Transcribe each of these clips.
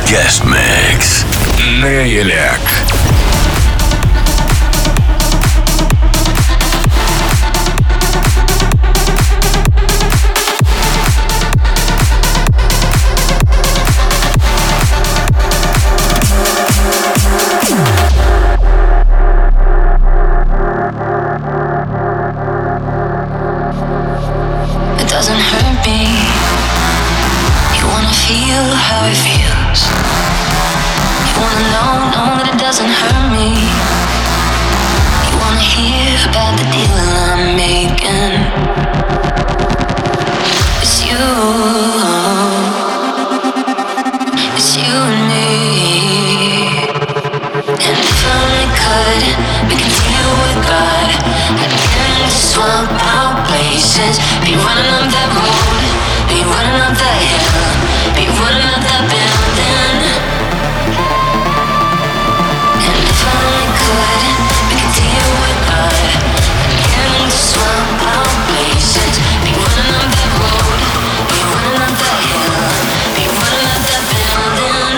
Guest Mix. Nailak. How it feels. You wanna know that it doesn't hurt me. You wanna hear about the deal I'm making. It's you. It's you and me. And if I only could, we could deal with God. I'd begin to swap out places. Be running up that road. Be running up that hill. Be running up that building. And if I only could, we could deal with God. Begin to swap out places. Be running up that road. Be running up that hill. Be running up that building.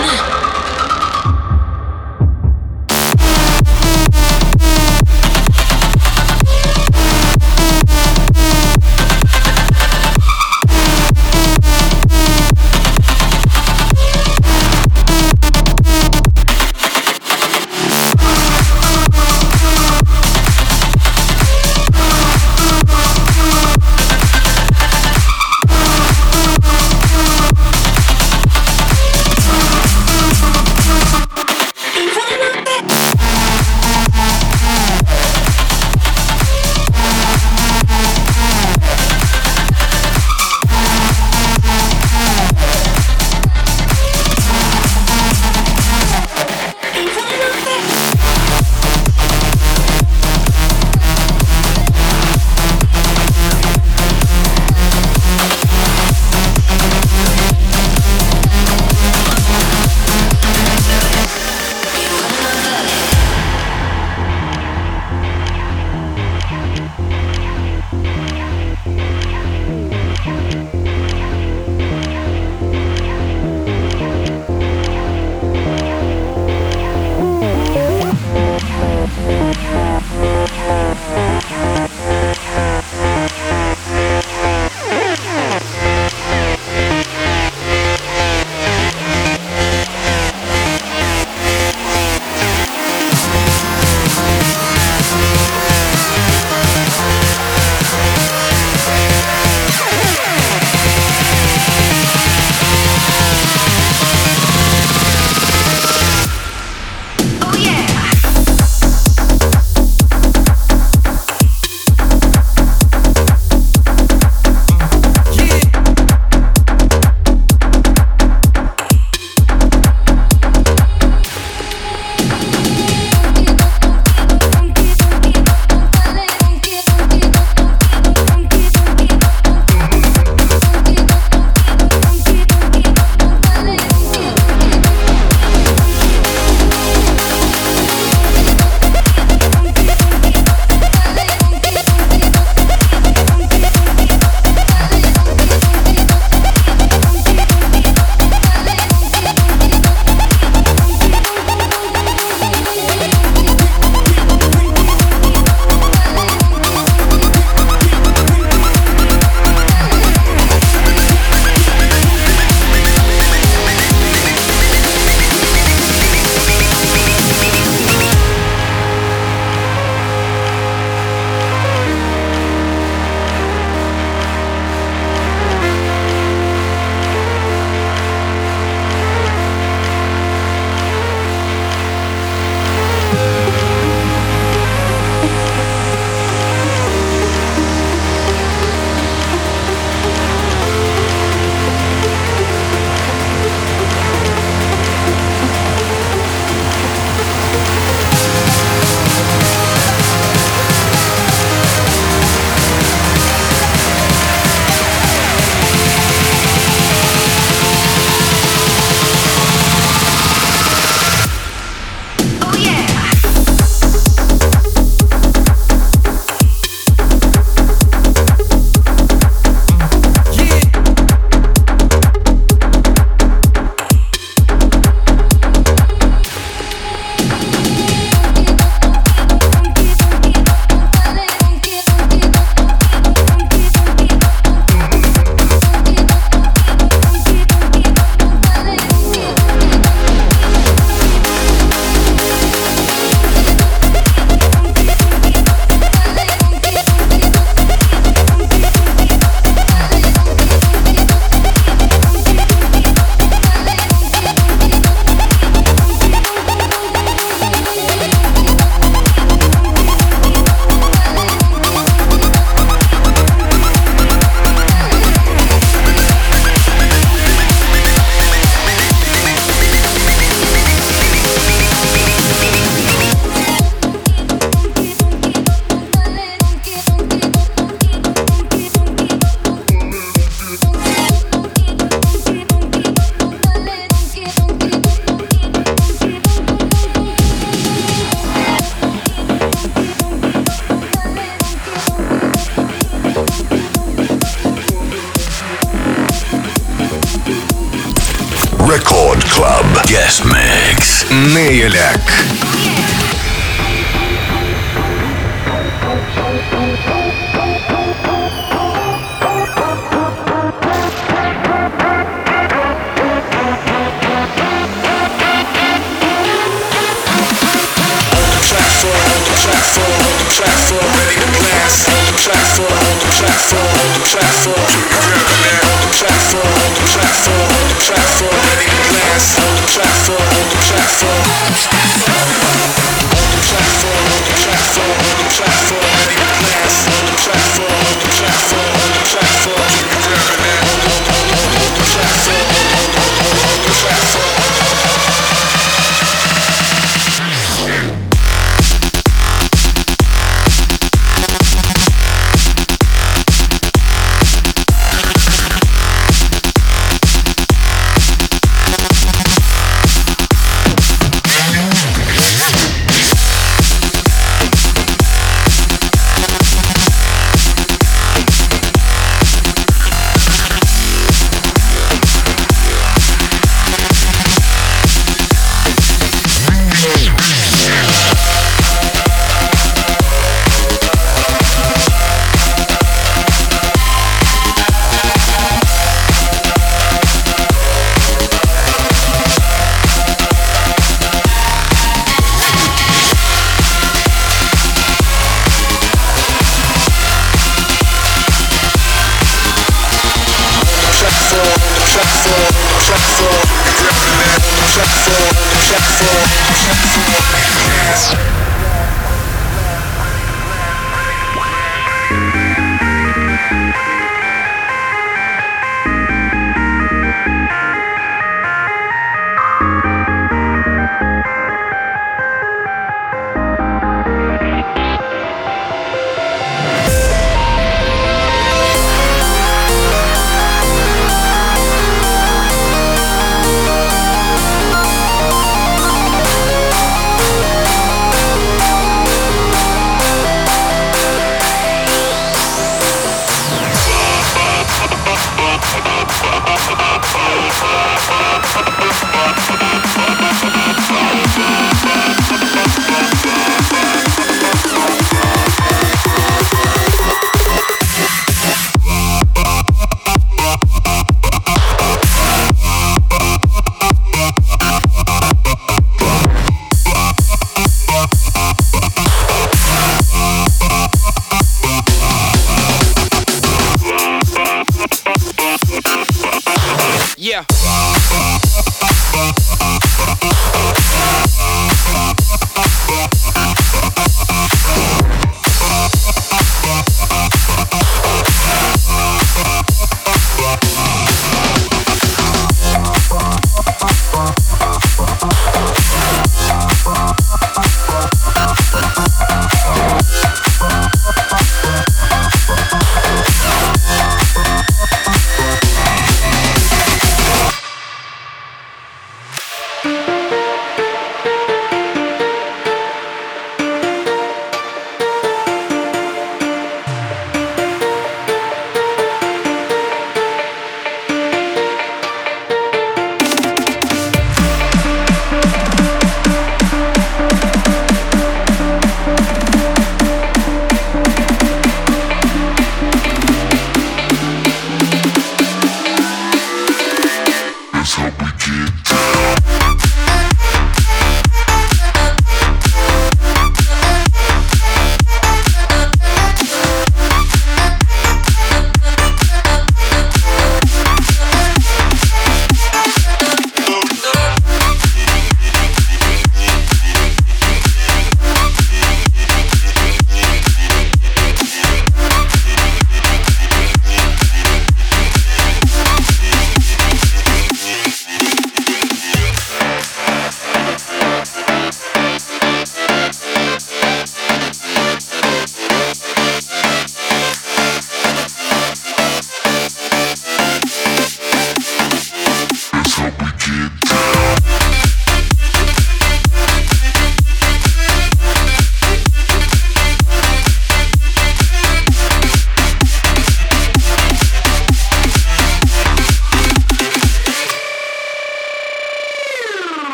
Guest Mix. Nailak.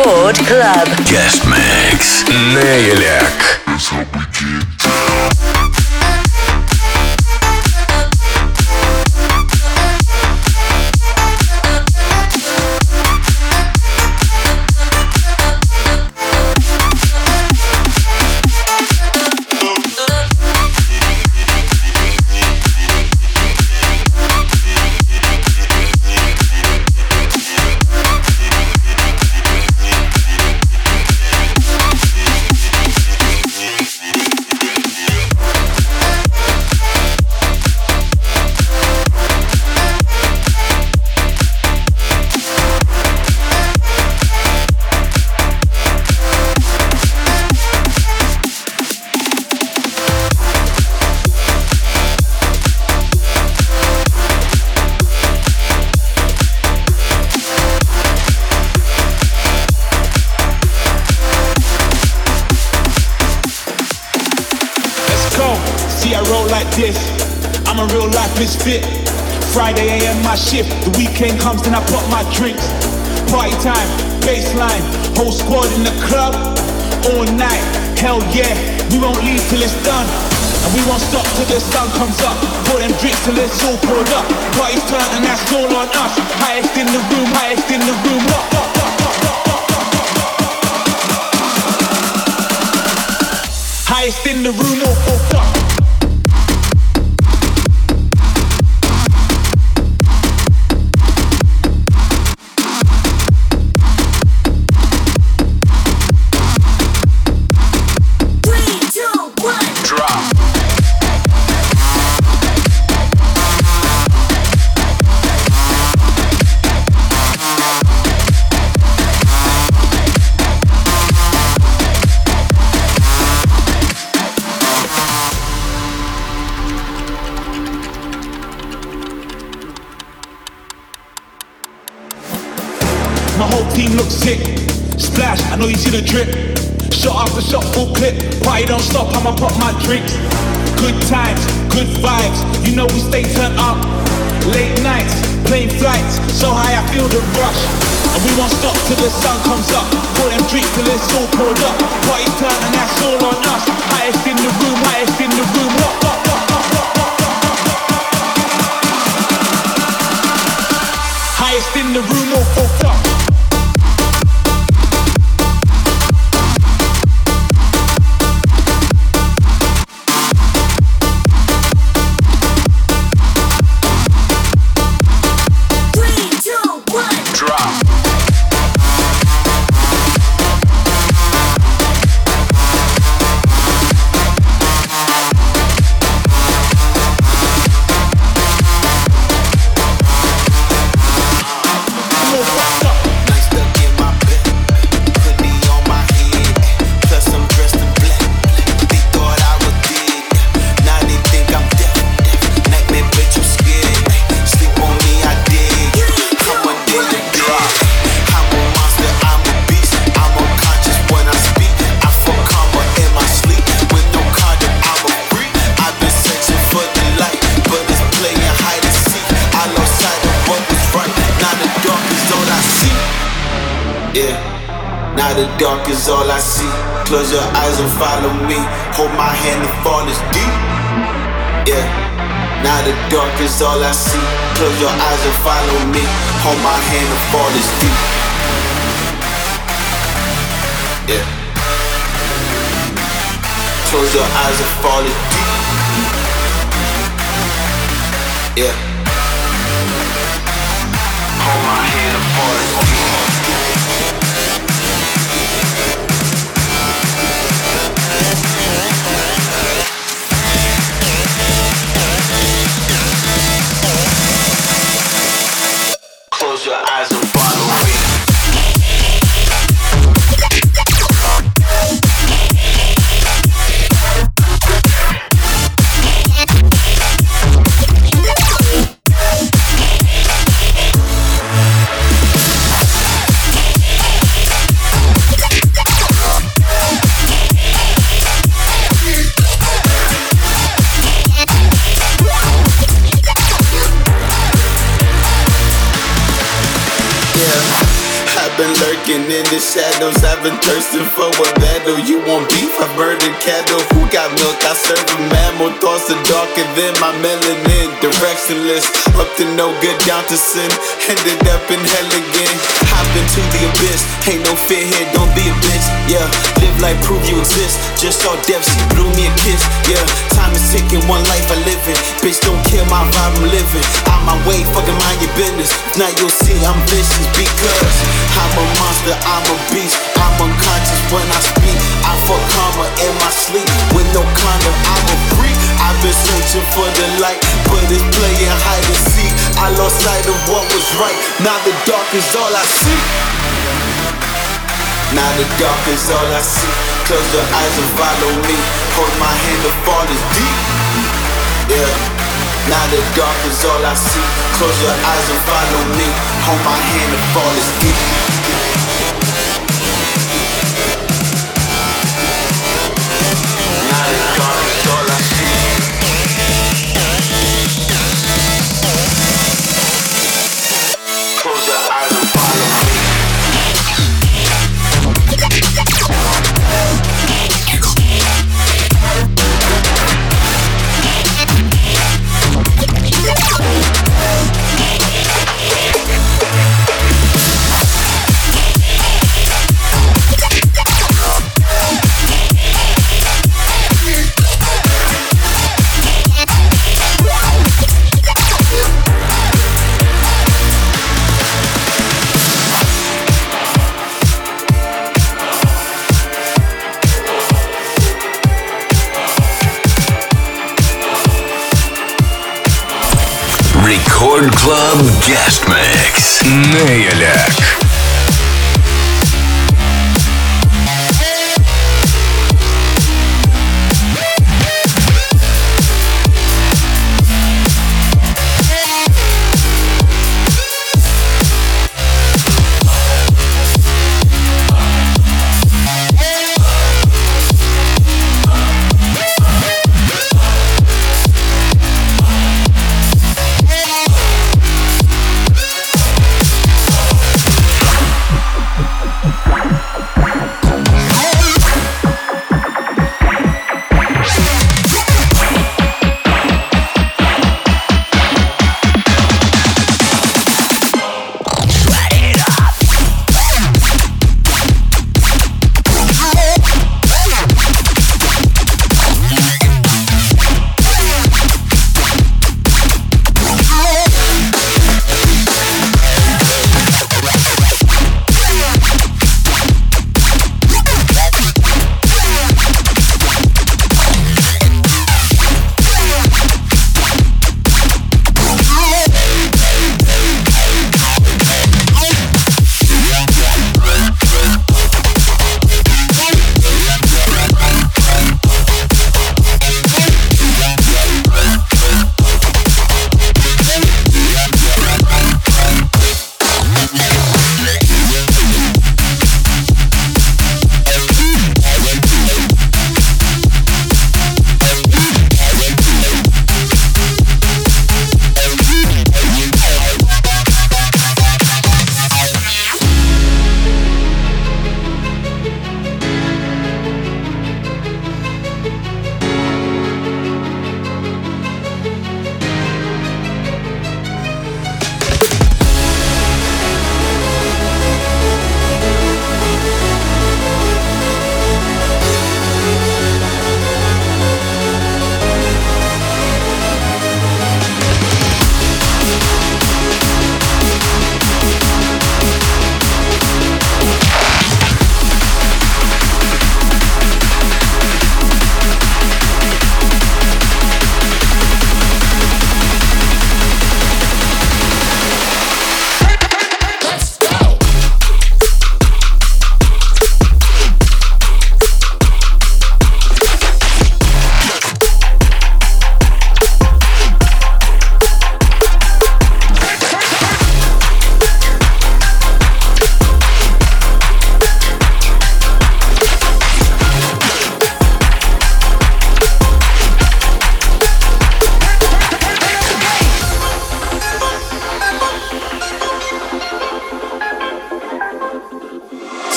Record Club. Guest Mix. Nailak. I'm a real life misfit. Friday AM my shift. The weekend comes then I pop my drinks. Party time, baseline, whole squad in the club all night. Hell yeah, we won't leave till it's done, and we won't stop till the sun comes up. Pour them drinks till it's all poured up. Party's turn and that's all on us. Highest in the room, highest in the room. Highest in the room, all fucked up. My whole team looks sick. Splash, I know you see the drip. Shot after shot, full clip. Party don't stop, I'ma pop my drinks. Good times, good vibes. You know we stay turned up. Late nights, plane flights. So high I feel the rush. And we won't stop till the sun comes up. Pour them drinks till it's all poured up. Party turn and that's all on us. Highest in the room, highest in the room. Highest in the room, all fucked up. Now the dark is all I see. Close your eyes and follow me. Hold my hand and fall is deep. Yeah. Now the dark is all I see. Close your eyes and follow me. Hold my hand and fall is deep. Yeah. Close your eyes and fall is deep. Yeah. Hold my hand and fall is deep. Close your eyes and follow me. been lurking in the shadows, I've been thirsting for a battle. You want beef, I murdered cattle. Who got milk, I serve a mammal. Thoughts are darker than my melanin. Directionless, up to no good, down to sin. Ended up in hell again. Hop into the abyss, ain't no fear here, don't be a bitch. Yeah, live life, prove you exist. Just saw death, she blew me a kiss. Yeah, time is ticking, one life I live in. Bitch, don't kill my vibe, I'm living. On my way, fucking mind your business. Now you'll see I'm vicious because I'm a monster, I'm a beast. I'm unconscious when I speak. I fuck karma in my sleep. With no condom, I'm a freak. I've been searching for the light, but it's playing hide and seek. I lost sight of what was right. Now the dark is all I see. Now the dark is all I see. Close your eyes and follow me. Hold my hand, the fall is deep. Yeah. Now the dark is all I see. Close your eyes and follow me. Hold my hand, the fall is deep. Now the dark is all I see. Close your eyes and follow me. Record Club Guest Mix. Nailak.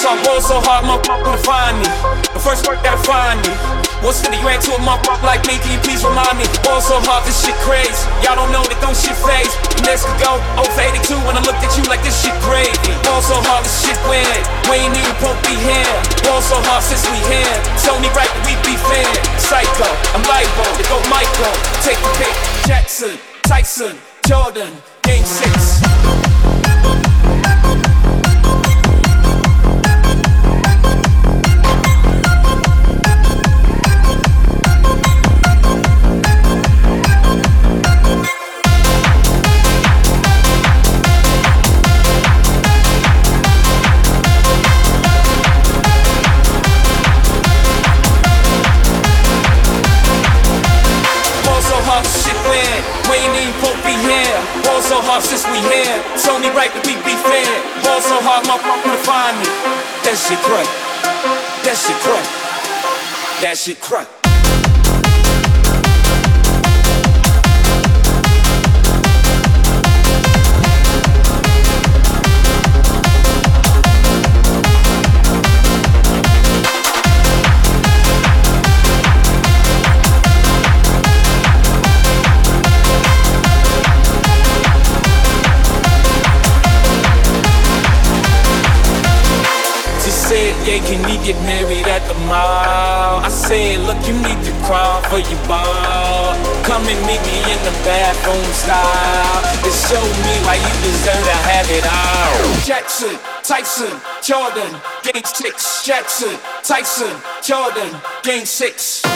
ball so hard, motherfucker, to find me. The first work gotta find me. What's 50 grand to a motherfucker like me? Can you please remind me? Ball so hard, this shit crazy. Y'all don't know that don't shit phase. Next could go 0 for 82 when I looked at you like this shit gravy. Ball so hard, this shit weird. We ain't even supposed to be here. Ball so hard since we here. It's only right that we be fair. Psycho, I'm liable to go Michael. Take the pick. Jackson, Tyson, Jordan, Game 6. So hard since we here, it's only right that we be fair. Ball so hard, motherfucker, to find me. That shit crack. That shit crack. That shit crack. Yeah, can we get married at the mall? I said, look, you need to crawl for your ball. Come and meet me in the bathroom style. And show me why you deserve to have it all. Jackson, Tyson, Jordan, Game 6. Jackson, Tyson, Jordan, Game 6.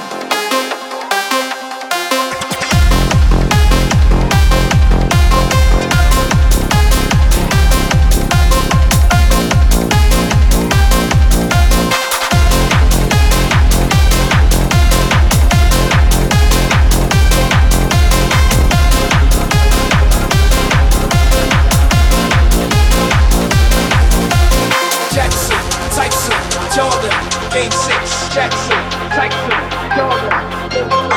Game 6, Jackson, Tyson, Jordan.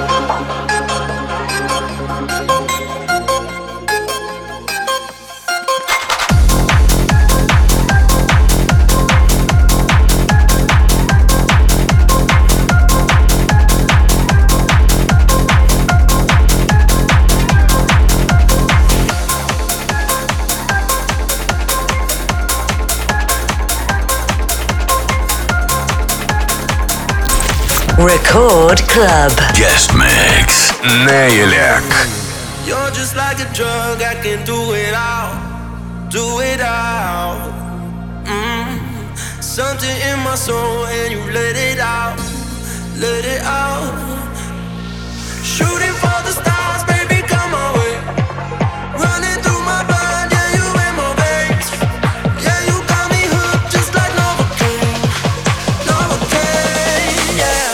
Record Club. Guest Mix. Nailak. You're just like a drug, I can do it all. Do it all. Something in my soul and you let it out. Let it out. Shooting for the stars, baby, come my way. Running through my blood, yeah, you in my veins. Yeah, you got me hooked just like Novocaine. Novocaine, yeah.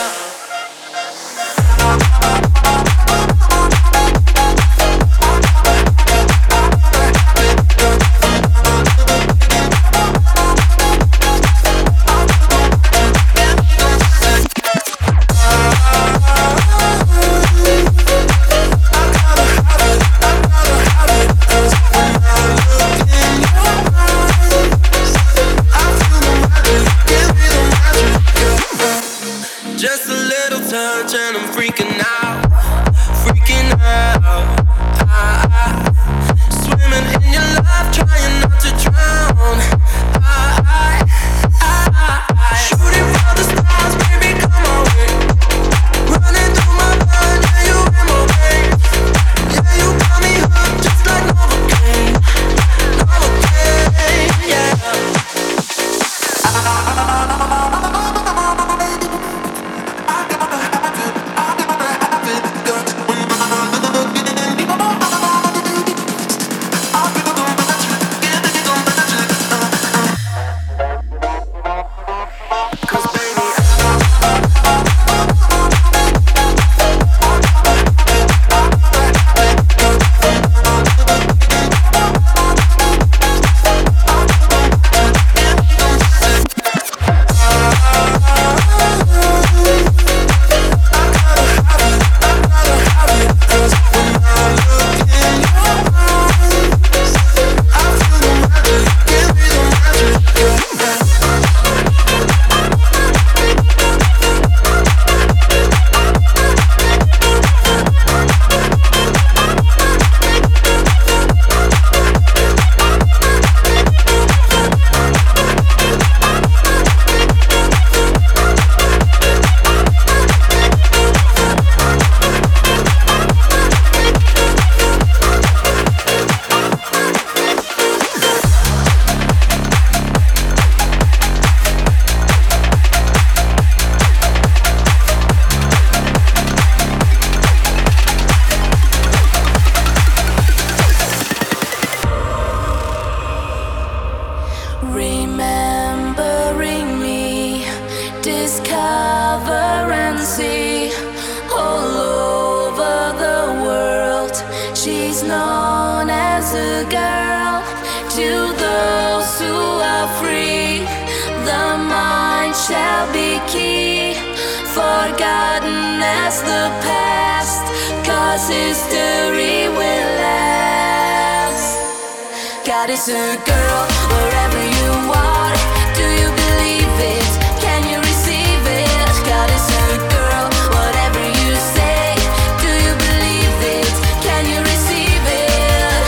remembering me. Discover and see all over the world. She's known as a girl to those who are free. The mind shall be key, forgotten as the past, 'cause history will last. God is a girl wherever you are. Do you believe it? Can you receive it? God is a girl, whatever you say. Do you believe it? Can you receive it?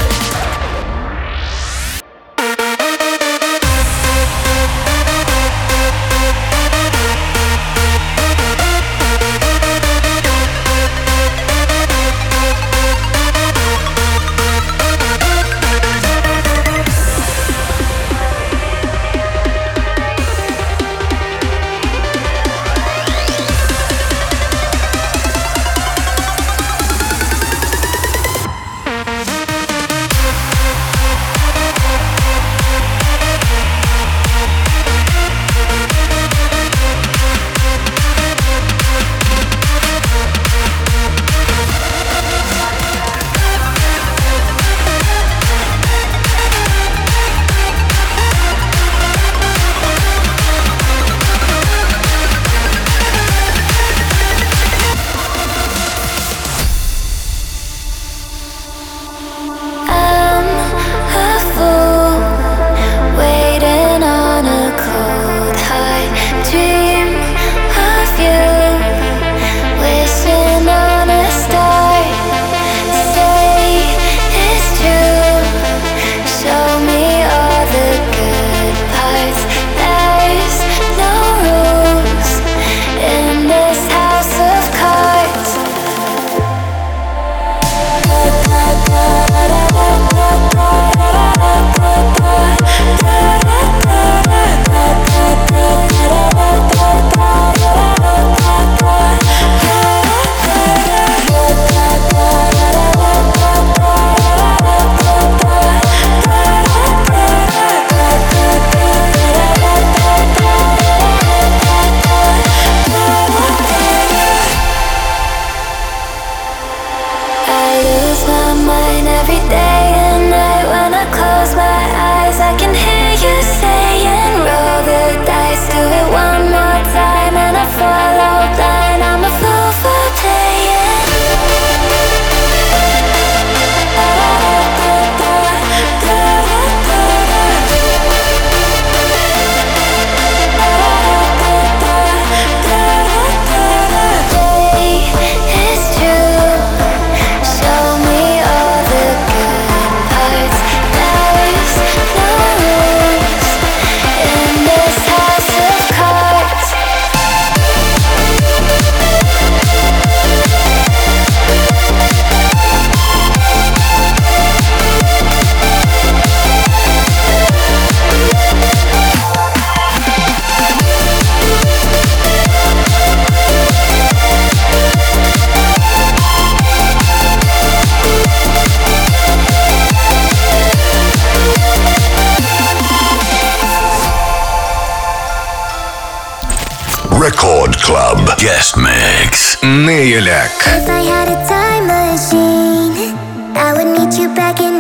Record Club Guest Mix Nailak. If I had a time machine, I would meet you back in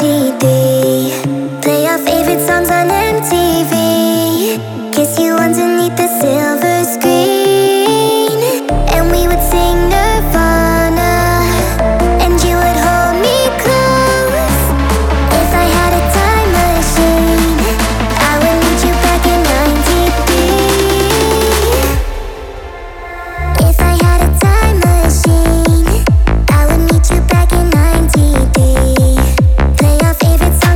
93. Play our favorite songs on MTV. Kiss you underneath the silver screen. And we would sing Nirvana, and you would hold me close. If I had a time machine, I would meet you back in 93. If I had a time machine, I would meet you back in 93. Play our favorite song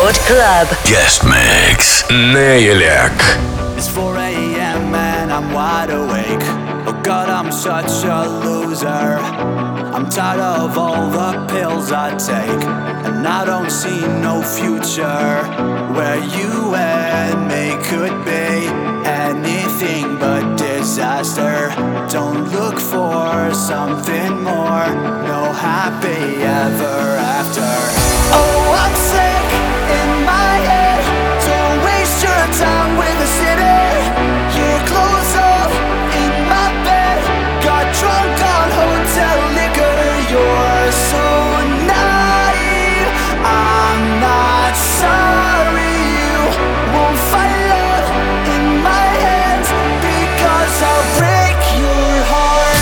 Record Club. Guest Mix. Nailak. It's 4 a.m. and I'm wide awake. Oh God, I'm such a loser. I'm tired of all the pills I take, and I don't see no future where you and me could be anything but disaster. Don't look for something more, no happy ever after. Oh, I'm sick in my head. Don't waste your time with the city. Your clothes off in my bed. Got drunk on hotel liquor. You're so naive. I'm not sorry. You won't find love in my hands, because I'll break your heart.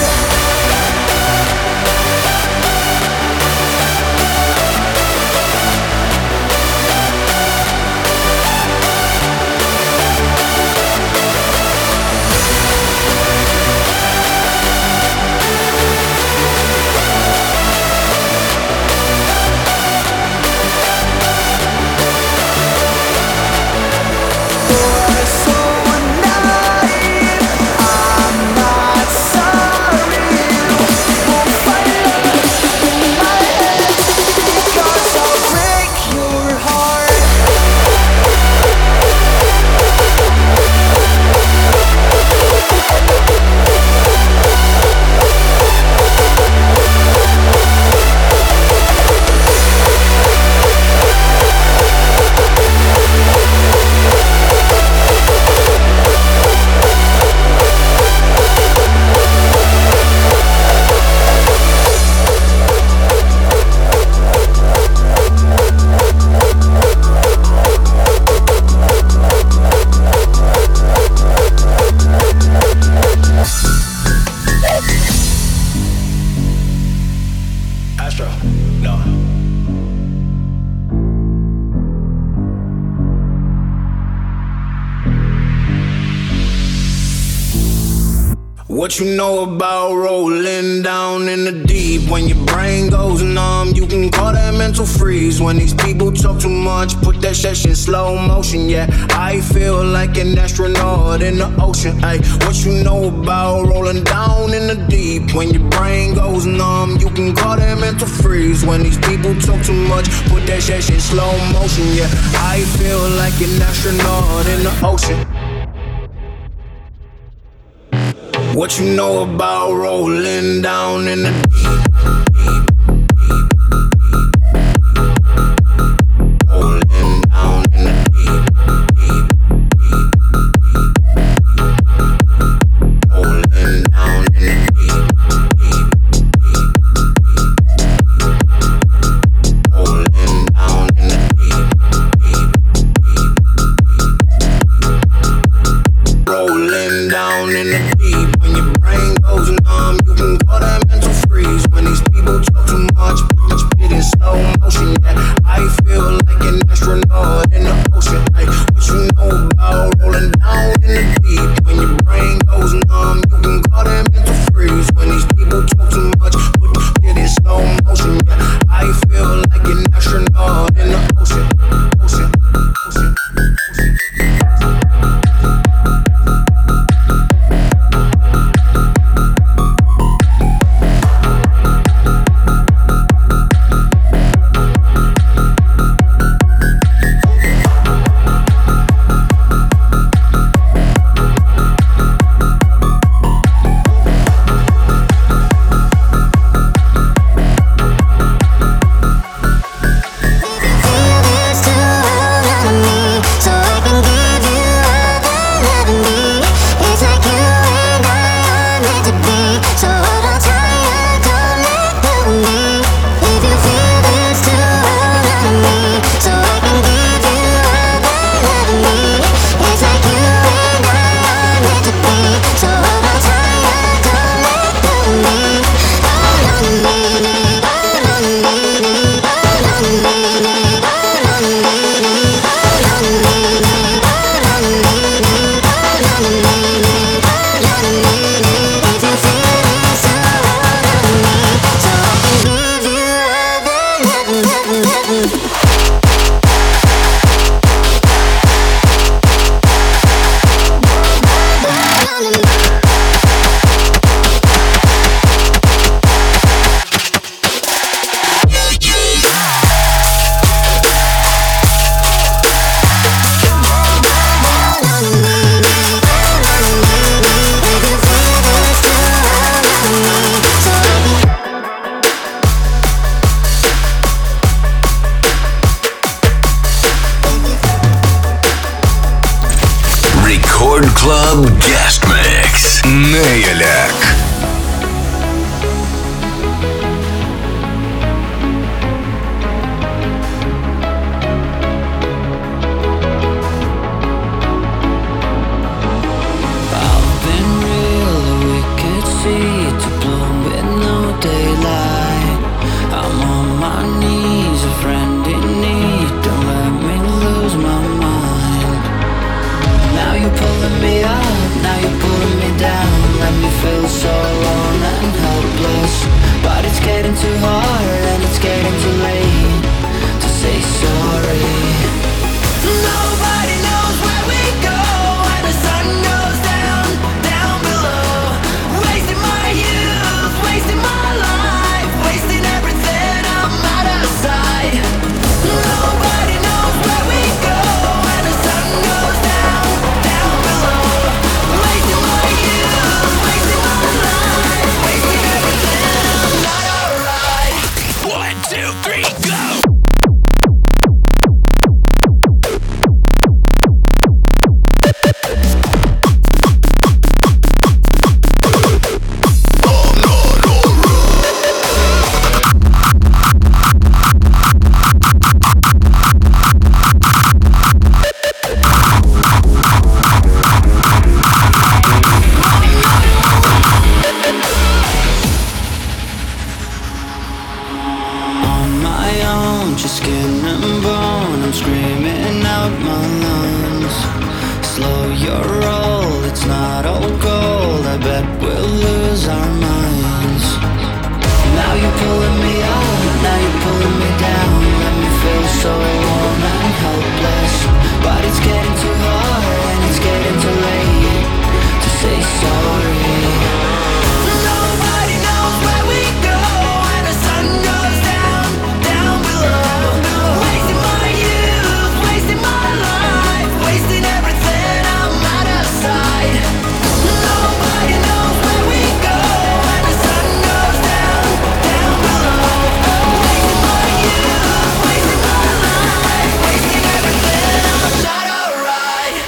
What you know about rolling down in the deep? When your brain goes numb, you can call that mental freeze. When these people talk too much, put that shit in slow motion. Yeah, I feel like an astronaut in the ocean. Ay, what you know about rolling down in the deep? When your brain goes numb, you can call that mental freeze. When these people talk too much, put that shit in slow motion. Yeah, I feel like an astronaut in the ocean. What you know about rolling down in the deep? Rolling down in the deep. Rolling down in the deep. Rolling down in the deep. Rolling down in the deep. When your brain goes numb, you can call that mental freeze. When these people talk too much, put it in slow motion. Yeah, I feel like an astronaut in the ocean. Ay, what you know about rolling down in the deep? When your brain goes numb, you can call that mental freeze. When these people talk too much, put it in slow motion. Yeah, I feel like an astronaut in the ocean. Ocean, ocean, ocean. Club Guest Mix. Nailak. Too hard and it's getting too late to say sorry. Nobody knows where we go when the sun goes down, down below. Wasting my youth, wasting my life, wasting everything I'm out of sight. Nobody knows where we go when the sun goes down, down below. Wasting my youth, wasting my life, wasting everything I'm not alright. 1, 2, 3, go! Just skin and bone, I'm screaming out my lungs. Slow your roll, it's not all gold, I bet we'll lose our minds. Now you're pulling me up, now you're pulling me down. Let me feel so alone and helpless. But it's getting too hard and it's getting too late to say sorry. Nobody knows where we go when the sun goes down, down below. Wasting my youth, wasting my life, wasting everything I'm out of sight. Nobody knows where we go when the sun goes down, down below. Wasting my youth, wasting my life, wasting everything I'm not alright.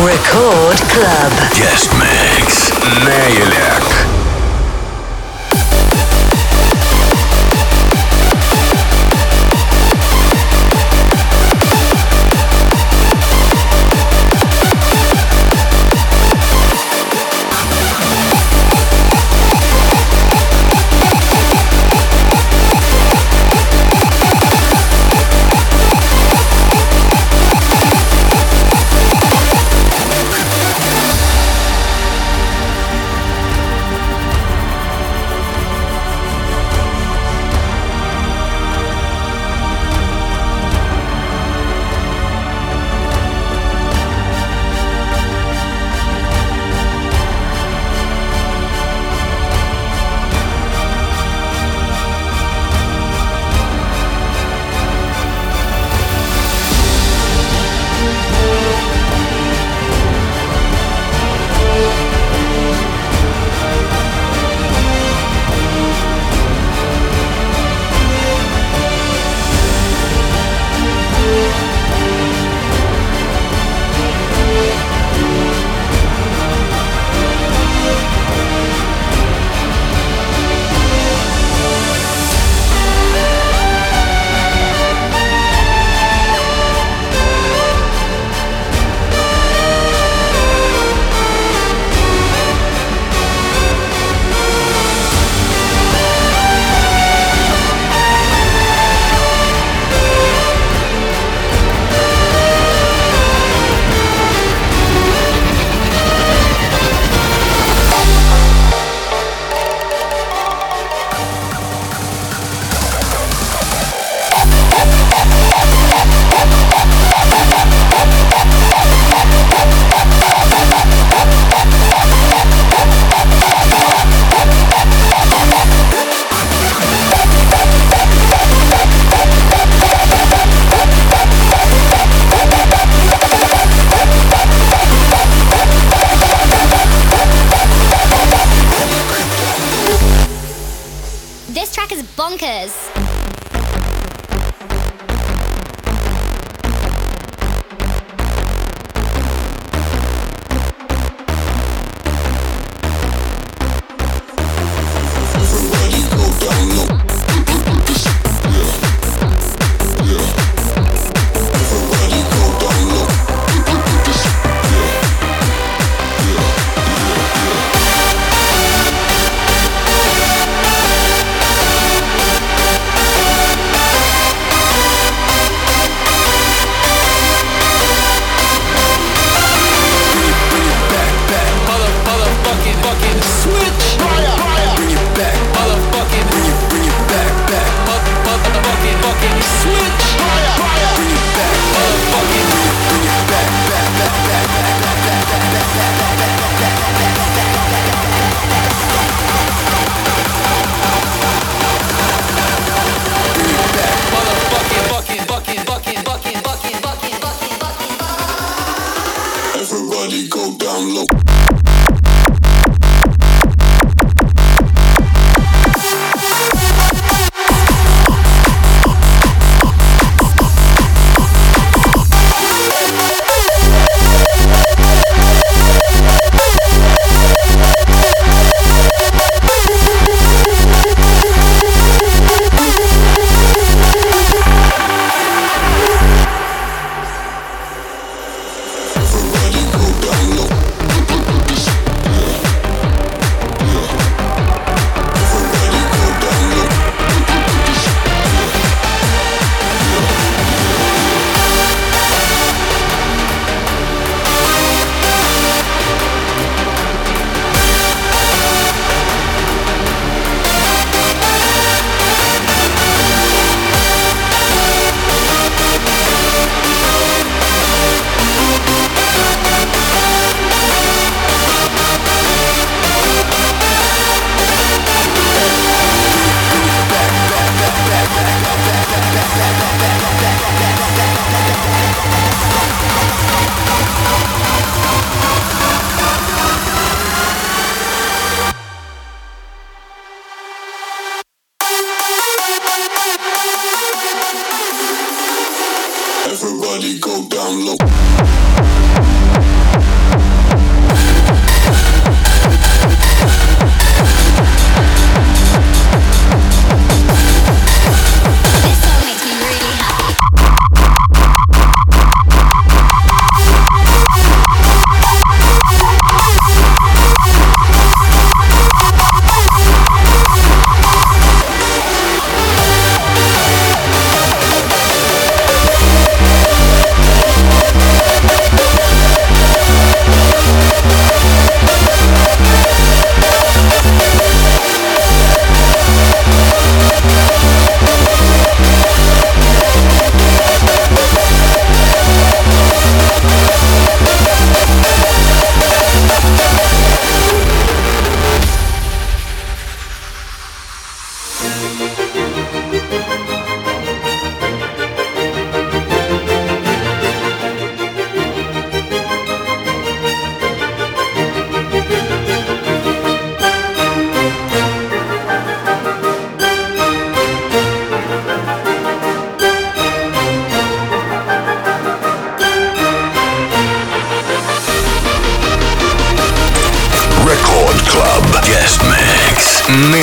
Record Club. Guest Mix. Nailak.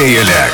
Nailak.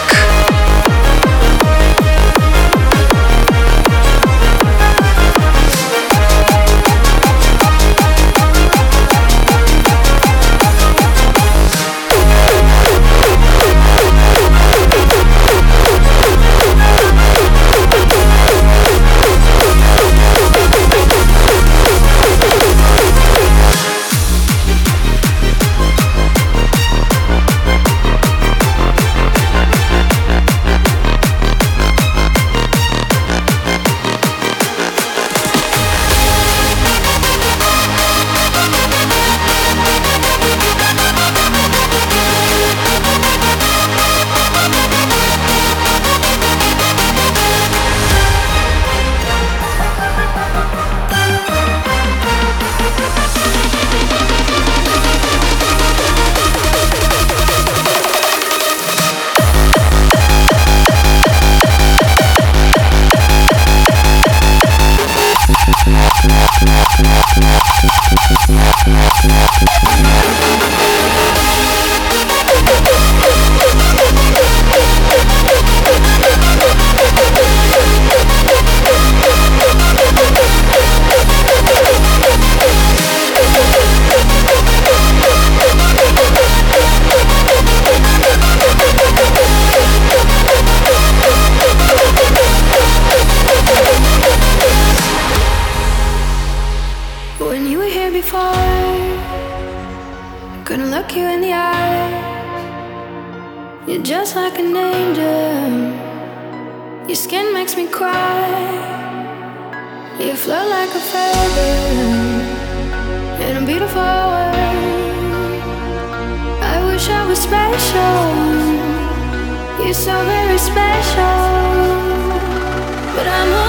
You're so very special, but I'm